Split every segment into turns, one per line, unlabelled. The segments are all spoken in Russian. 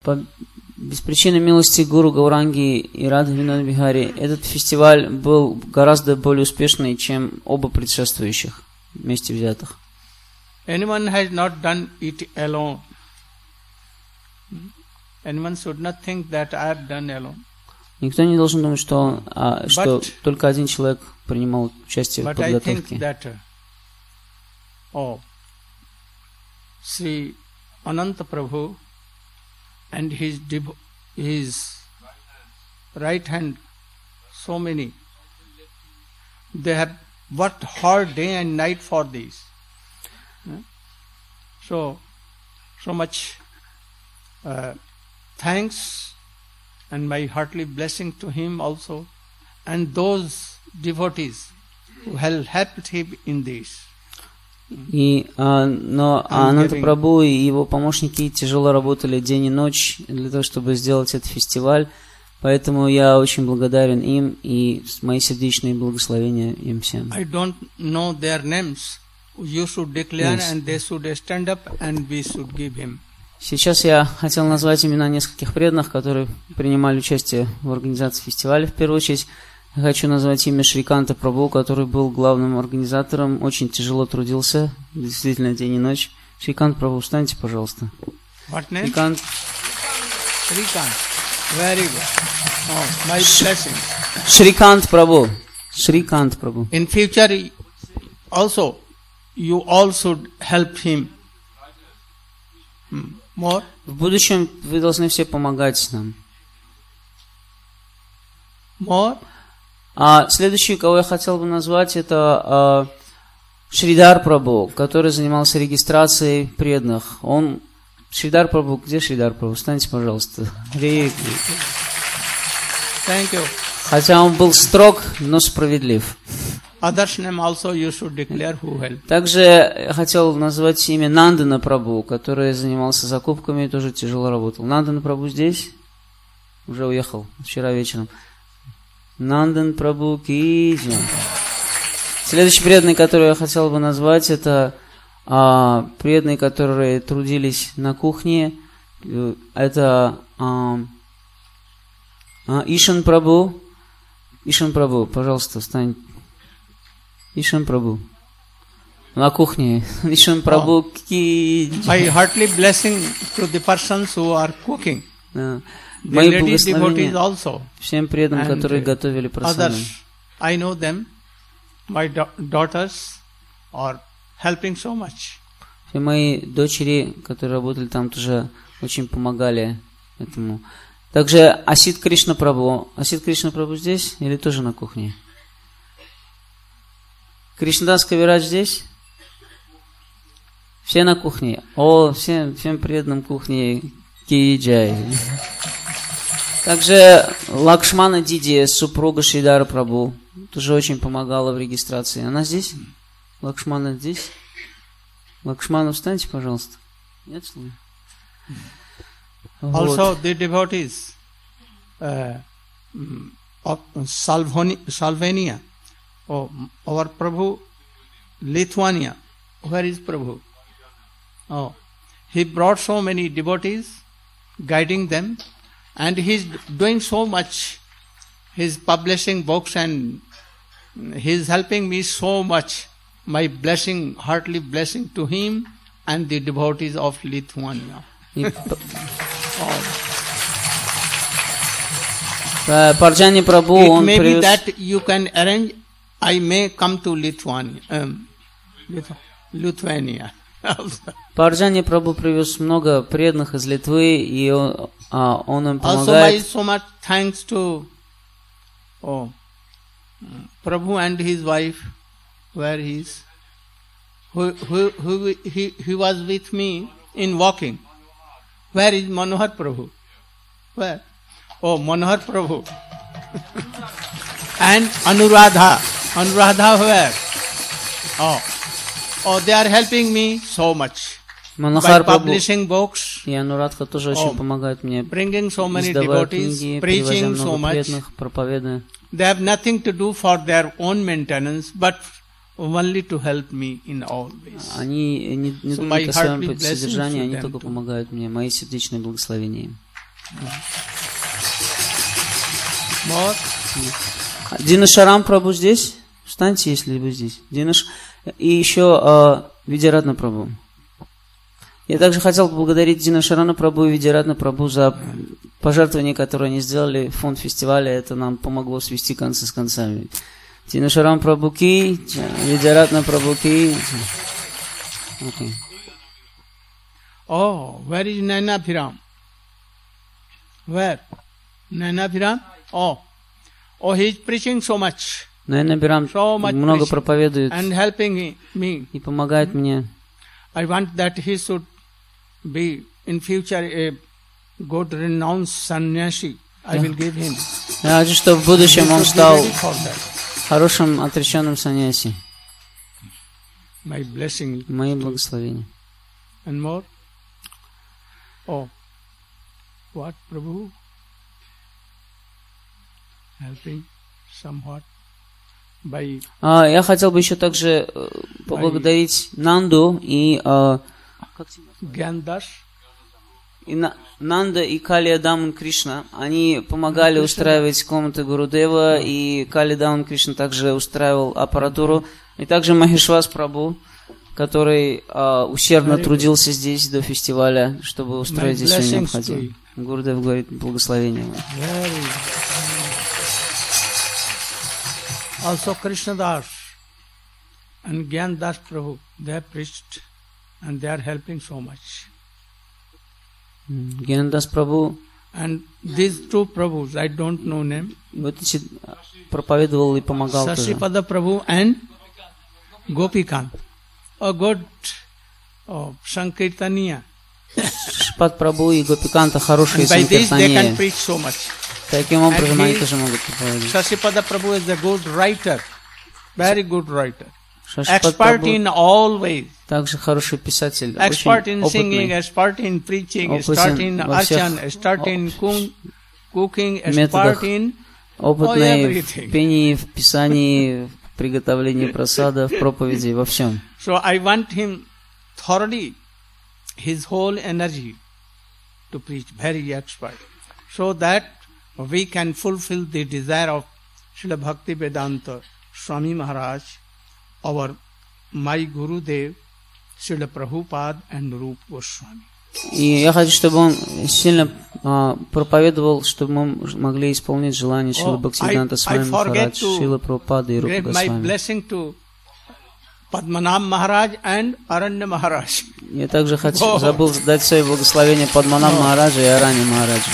По без причины милости Гуру Гауранги и Радха Винод Бихари этот фестиваль был гораздо более успешный, чем оба предшествующих вместе взятых.
Anyone has not done it alone. Anyone should not think that I have done alone.
Никто не должен думать, что только один человек принимал участие в подготовке.
That, Sri Ananta Prabhu and his right hand, so many, they have worked hard day and night for this. So much thanks and my heartily blessing to him also and those devotees who have helped him in this.
Но Ананда Прабху и его помощники тяжело работали день и ночь для того, чтобы сделать этот фестиваль, поэтому я очень благодарен им и мои сердечные благословения им всем.
I don't know their names. You should declare and they should stand up and we should give him.
Сейчас я хотел назвать имена нескольких преданных, которые принимали участие в организации фестиваля. В первую очередь я хочу назвать имя Шриканта Прабху, который был главным организатором, очень тяжело трудился, действительно день и ночь. Шрикант Прабху, встаньте, пожалуйста.
What name? Shrikant. Very good. Oh, my blessing.
Шрикант Прабху. Шрикант Прабху.
In future also, you all should help him more.
В будущем вы должны все помогать нам.
More.
Следующий, кого я хотел бы назвать, это Шридар Прабху, который занимался регистрацией преданных. Шридар Прабху, где Шридар Прабху? Встаньте, пожалуйста.
Thank you.
Хотя он был строг, но справедлив.
Others name also you should declare who helped.
Также я хотел назвать имя Нандана Прабху, который занимался закупками и тоже тяжело работал. Нандана Прабху здесь? Уже уехал вчера вечером. Нандан Прабху ки джай. Следующий преданный, который я хотел бы назвать, это преданные, которые трудились на кухне. Это Ишан Прабху. Ишан Прабху, пожалуйста, встань. Ишан Прабху. На кухне. Ишан Прабху ки
My
джай.
heartily blessing to the persons who are cooking.
Мои благословения всем преданным, которые готовили прасаду.
I know them. My daughters are helping so much.
Все мои дочери, которые работали там, тоже очень помогали этому. Также Асит Кришна Прабху. Асит Кришна Прабху здесь или тоже на кухне? Кришнадас Кавирадж здесь? Все на кухне. Всем преданным кухне ки джай. Также Лакшмана Диди, супруга Шридара Прабху, тоже очень помогала в регистрации. Она здесь? Лакшмана здесь? Лакшмана, встаньте, пожалуйста. Нет слова?
Also the devotees of Slovenia, our Prabhu, Lithuania. Where is Prabhu? He brought so many devotees, guiding them. And he's doing so much. He's publishing books and he's helping me so much. My blessing, heartily blessing to him and the devotees of Lithuania.
Парджани Прабху, он
привез... It may
be
that you can arrange, I may come to Lithuania.
Парджани Прабху привез много преданных из Литвы, и он им помогает.
Also, so much thanks to Prabhu and his wife, where he is, he was with me in walking. Where is Manohar Prabhu? Where? Oh, Manohar Prabhu. And Anuradha. Anuradha where? Oh, they are helping me so much.
Манахар
by publishing books,
и Анурадха тоже очень помогают мне,
bringing so many
издавая
devotees,
книги, перевозя
preaching so
много
much.
преданных, проповедуя.
They have nothing to do for their own maintenance, but only to help me in all ways.
Они не думают о своем содержании, они только помогают мне. Мои сердечные благословения.
More.
Динашарам Прабху здесь? Встаньте, если вы здесь. И еще Видяратна Прабху. Я также хотел поблагодарить Динашарана Прабху и Видяратна Прабху за пожертвования, которые они сделали в фонд фестиваля. Это нам помогло свести концы с концами. Динашарам Прабху ки, Видяратна Прабху ки. Okay.
Oh, where is Naina Piram? Where? Naina Piram? Oh, he is preaching so much.
Наина Бирам много проповедует
and helping me.
И помогает мне.
I want that he should be in future a good renowned sannyasi. I will give him.
Я хочу, чтобы в будущем он стал хорошим отреченным саньяси.
My blessing.
Мои благословения.
And more? Oh, what Prabhu? Helping somewhat by...
Я хотел бы еще также поблагодарить Нанду и...
Гьяндас.
Нанда и Калия Даман Кришна, они помогали устраивать комнаты Гурудева, и Калия Даман Кришна также устраивал аппаратуру, и также Махешвас Прабху, который усердно трудился здесь до фестиваля, чтобы устроить здесь все необходимое. Гурудев говорит благословение.
Also Krishna Das and Gyan Das Prabhu, they have preached and they are helping so much.
Гьяндас Прабху.
And these two Prabhus, I don't know name.
Вот проповедовал и помогал тоже.
Sasipada Prabhu and Gopikant. A good Sankirtaniya.
Шипат Прабху и Гопиканта хорошие санкиртании. Таким образом они тоже могут проповедовать.
Sasipada Prabhu is a good writer. Very good writer. Expert in all ways.
Также хороший писатель.
Expert in singing, expert in preaching, expert in archan, expert in cooking, expert in
опытный в пении, в писании, в приготовлении прасада, в проповеди, во всем.
So I want him thoroughly, his whole energy to preach, very expert, so that we can fulfill the desire of Srila Bhaktivedanta Swami Maharaj, my Gurudev, Srila Prabhupada and Rupa Goswami.
И я хочу, чтобы он сильно проповедовал, чтобы мы могли исполнить желание Шрила Бхактивиданта Свами Махарадж, Шрила Прабхупады и Рупа Госвами.
My blessing to Padmanabh Maharaj and Aranya Maharaj.
Я также забыл дать свои благословения Падманабх Махараджа и Аранья Махараджа.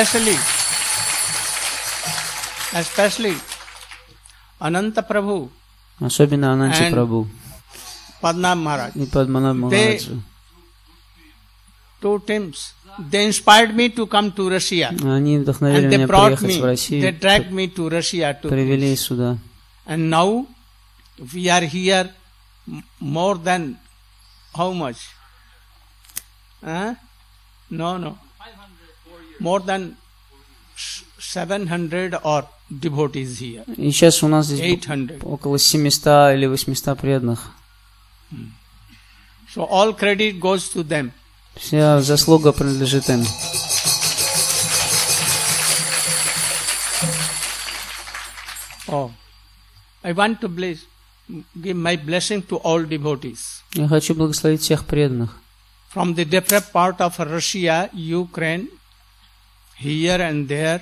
Especially Ananta Prabhu.
Особенно Ананти Прабху
Падманабх Махарадж.
И Падманабх Махараджа.
Two teams. They inspired me to come to Russia.
Они вдохновили меня приехать в Россию.
They dragged me to Russia to
привели сюда.
And now we are here more than how much? No. More than 700 or devotees here.
И сейчас у нас здесь
800.
Около 700 или 800 преданных.
So all credit goes to them.
Вся заслуга принадлежит им.
I want to give my blessing to all devotees.
Я хочу благословить всех преданных.
From the different part of Russia, Ukraine, here and there,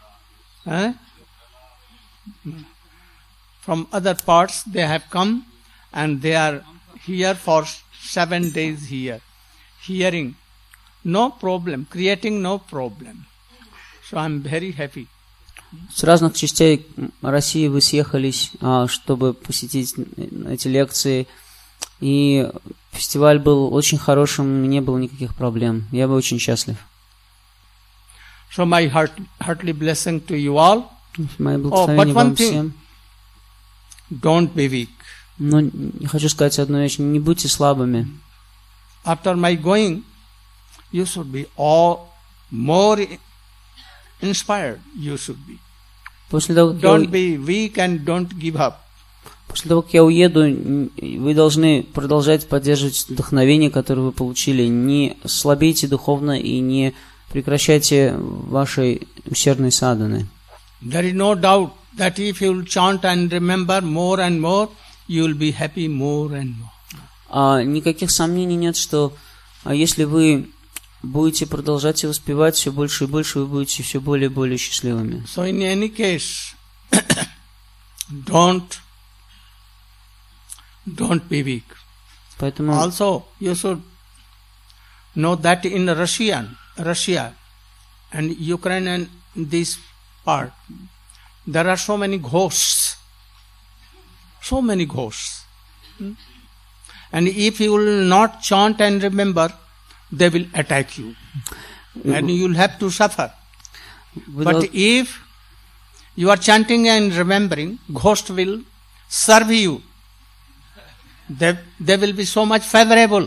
from other parts they have come and they are here for 7 days here. Hearing, no problem, creating no problem. So I am very happy.
С разных частей России вы съехались, чтобы посетить эти лекции. И фестиваль был очень хорошим, не было никаких проблем. Я был очень счастлив.
So my heartily blessing to you all.
Мои благословения вам всем.
Don't be weak.
Но я хочу сказать одну вещь: не будьте слабыми.
After my going, you should be all more inspired. You should be. Don't be weak and don't give up.
После того, как я уеду, вы должны продолжать поддерживать вдохновение, которое вы получили. Не слабейте духовно и не прекращайте вашей усердной садханы.
There is no doubt that if you will chant and remember more and more, you will be happy more and more.
Никаких сомнений нет, что если вы будете продолжать и воспевать все больше и больше, вы будете все более и более счастливыми.
So in any case, don't be weak.
Поэтому
Also, you should know that in Russia and Ukraine and this part, there are so many ghosts. So many ghosts. And if you will not chant and remember, they will attack you. And you will have to suffer. But if you are chanting and remembering, ghost will serve you. They will be so much favorable.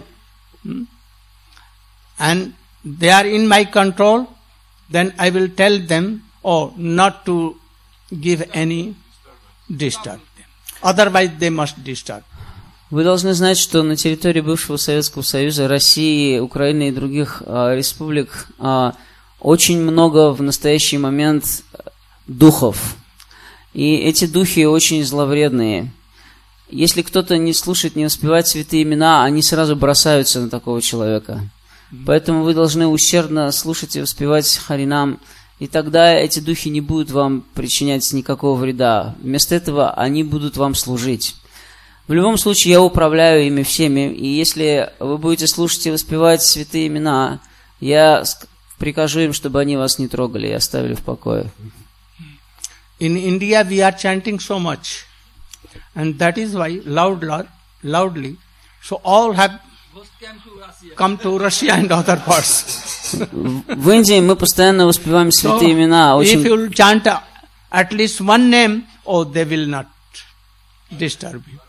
And they are in my control, then I will tell them, not to give any disturb them. Otherwise they must disturb.
Вы должны знать, что на территории бывшего Советского Союза, России, Украины и других республик очень много в настоящий момент духов. И эти духи очень зловредные. Если кто-то не слушает, не воспевает святые имена, они сразу бросаются на такого человека. Поэтому вы должны усердно слушать и воспевать Харинам, и тогда эти духи не будут вам причинять никакого вреда. Вместо этого они будут вам служить. В любом случае, я управляю ими всеми, и если вы будете слушать и воспевать святые имена, я прикажу им, чтобы они вас не трогали и оставили в покое.
In India we are chanting so much, and that is why loudly, so all have come to Russia and other parts.
В Индии мы постоянно воспеваем святые имена.
If you will chant at least one name, they will not disturb you.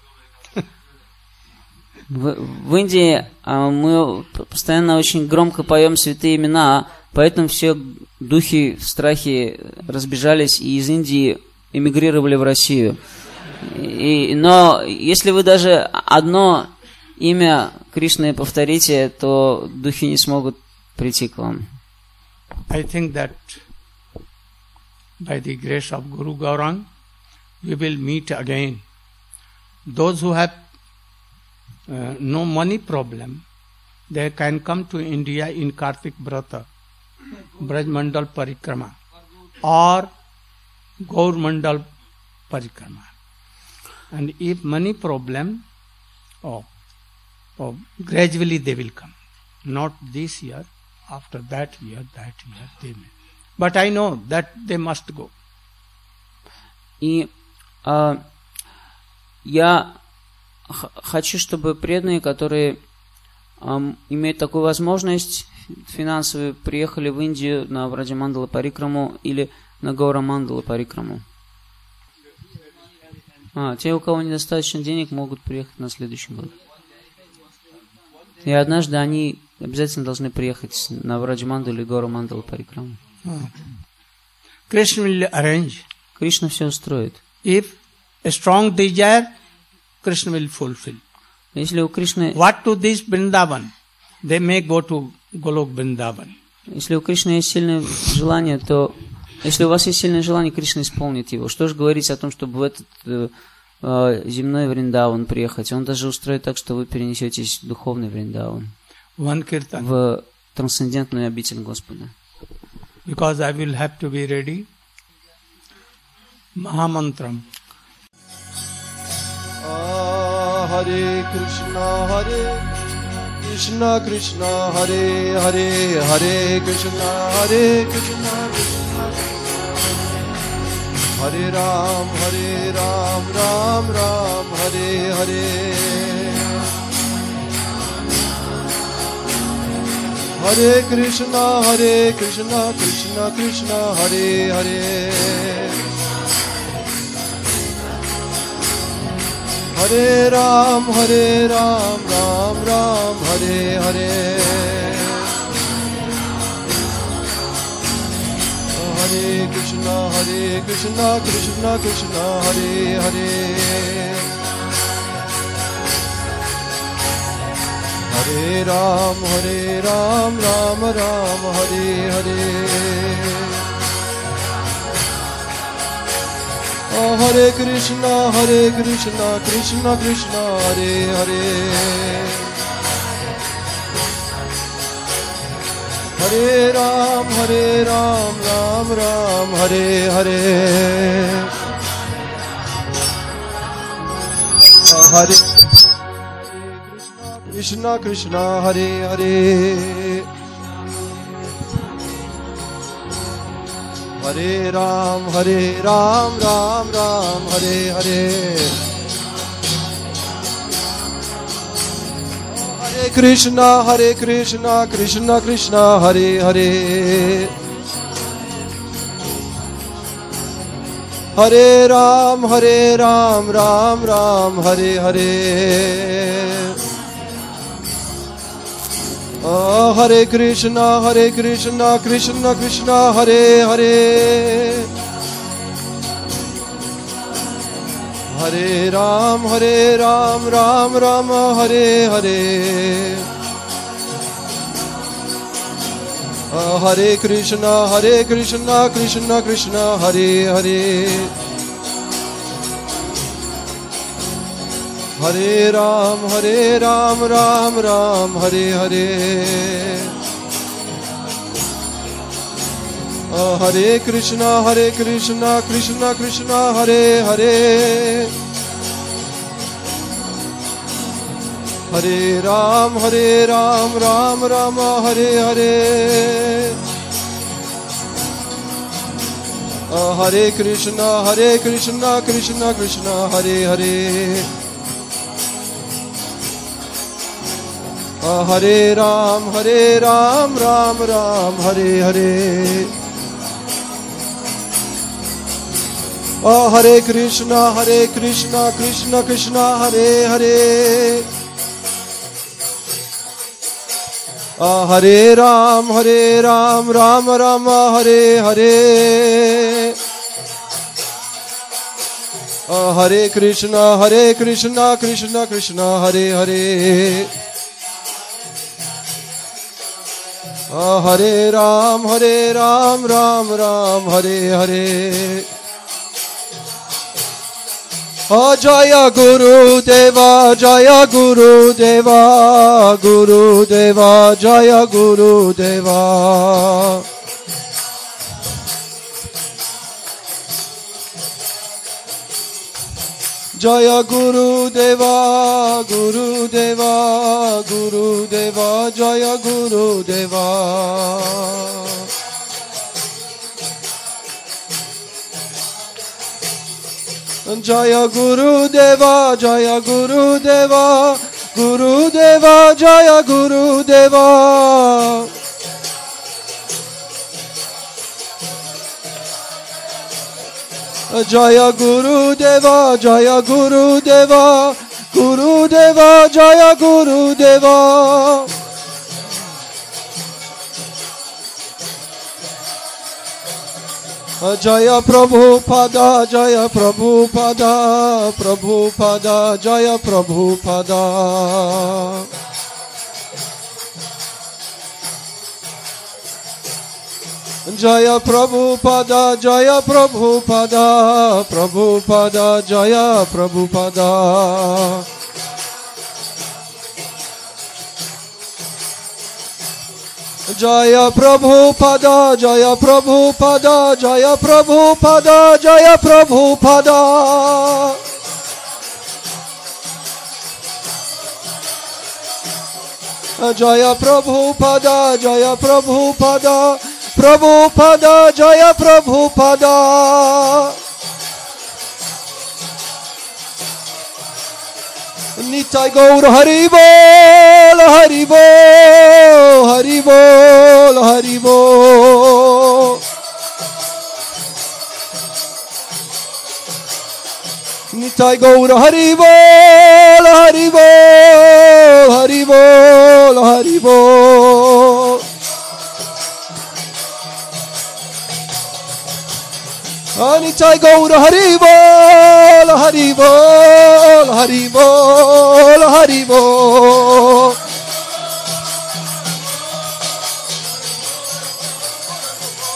В Индии мы постоянно очень громко поем святые имена, поэтому все духи в страхе разбежались и из Индии эмигрировали в Россию. Но если вы даже одно имя Кришны повторите, то духи не смогут прийти к вам.
I think that by the grace of Guru Gaurang, we will meet again. Those who have no money problem, they can come to India in Kartik Vrata, Braj Mandal Parikrama, or Gaur Mandal Parikrama. And if money problem, gradually they will come. Not this year, after that year they may. But I know that they must go.
И я хочу, чтобы преданные, которые имеют такую возможность финансовую, приехали в Индию на Браджа Мандала Парикраму или на Гаура Мандала Парикраму. Те, у кого недостаточно денег, могут приехать на следующий год. И однажды они обязательно должны приехать на Браджа Мандалу или Гаура Мандала Парикраму.
Krishna will arrange.
Кришна все устроит.
If a strong desire, Krishna will fulfill.
Если у Кришны...
What to this Vrindavan? They may go to Golok Vrindavan.
Если у Кришны есть сильное желание, то... Если у вас есть сильное желание, Кришна исполнит его. Что же говорить о том, чтобы в этот земной Вриндаван приехать? Он даже устроит так, что вы перенесетесь в духовный Вриндаван. В трансцендентную обитель Господа.
Because I will have to be ready. Mahamantram.
Hare Krishna Krishna Hare Hare Hare Krishna Krishna Hare Ram Ram Ram Hare Hare Hare Krishna Krishna Krishna Hare Hare Hare Ram Ram Ram Hare Hare Hare Krishna Krishna Krishna Hare Hare Hare Ram, Ram Ram, Hare Hare. Hare Krishna, Krishna Krishna, Hare Hare. Hare Ram, Ram Ram, Hare Hare. Hare Krishna, Krishna, Hare Hare. Hare Ram, Ram Ram, Hare Hare. Hare Krishna, Krishna Krishna, Hare Hare. Hare Ram, Ram Ram, Hare Hare. Hare Krishna, Krishna Krishna, Hare Hare. Hare Ram, Ram Ram, Hare Hare. Hare Krishna, Krishna Krishna, Hare Hare. Hare Ram, Ram Ram, Hare Hare. Hare Krishna, Krishna Krishna, Hare Hare. Hare Ram, Ram Ram, Hare Hare. Hare Krishna, Krishna Krishna, Hare Hare. Hare Ram, Ram Ram, Hare Hare. Hare Krishna, Krishna Krishna, Hare Hare. Hare Ram, Ram Ram, Hare Hare. Hare Krishna, Krishna Krishna, Hare Hare. Hare Ram, Ram Hare Hare. Jaya Guru Deva, Jaya Guru Deva, Guru Deva, Jaya Guru Deva. Jaya Guru Deva, Guru Deva, Guru Deva, Jaya Guru Deva. Jaya Guru Deva, Jaya Guru Deva, Guru Deva, Jaya Guru Deva. Jaya Guru Deva, Jaya Guru Deva, Guru Deva, Jaya Guru Deva. Jaya Prabhupada, Jaya Prabhupada, Prabhupada, Jaya Prabhupada. Jaya Prabhupada, Jaya Prabhupada, Prabhupada, Jaya Prabhupada. Jaya Prabhupada, Jaya Prabhupada, Jaya Prabhupada, Jaya Prabhupada. Jaya Prabhupada, Jaya Prabhupada, Prabhupada, Jaya Prabhupada. Nitai Gaur Hari Bol, Hari Bol, Hari Bol, Hari Bol. Nitai Gaur Hari Bol, Hari Bol, Hari Bol, Hari Bol. Nitai Gaur Hari Bol, Hari Bol, Hari Bol, Hari Bol.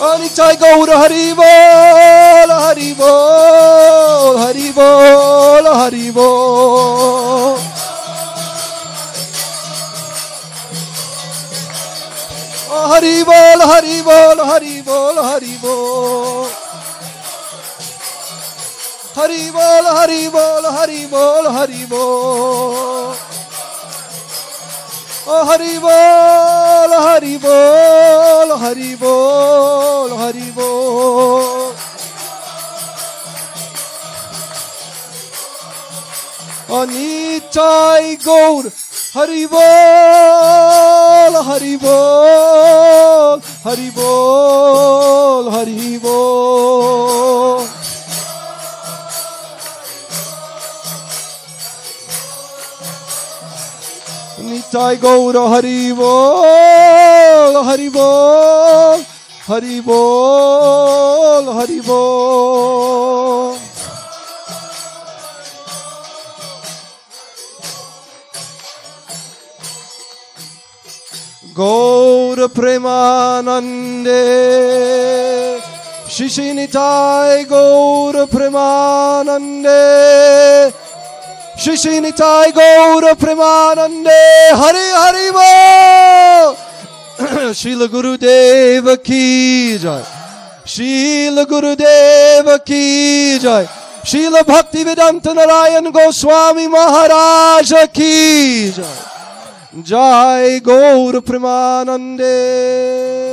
Nitai Gaur Hari Bol, Hari Bol, Hari Bol, Hari Bol. Hari Bol, Hari Bol, Hari Bol, Hari Bol. Hari Bol, Hari Bol, Hari Bol, Hari Bol. Hari Bol, Hari Bol, Hari Bol, Hari Bol. Nitai Gaur Hari Bol, Hari Bol, Hari Bol, Hari Bol. Nitai Gaur Hari Bol, Hari Bol, Hari Bol, Hari Bol. Gaur Premanande, Shri Nitai Gaur Premanande, Shri Nitai Gaur Premanande, Hari Hari Bol. Srila Gurudeva ki jai, Srila Gurudeva ki jai, Srila Bhaktivedanta Narayan Goswami Maharaj ki jai. Jai Gaur Premanande.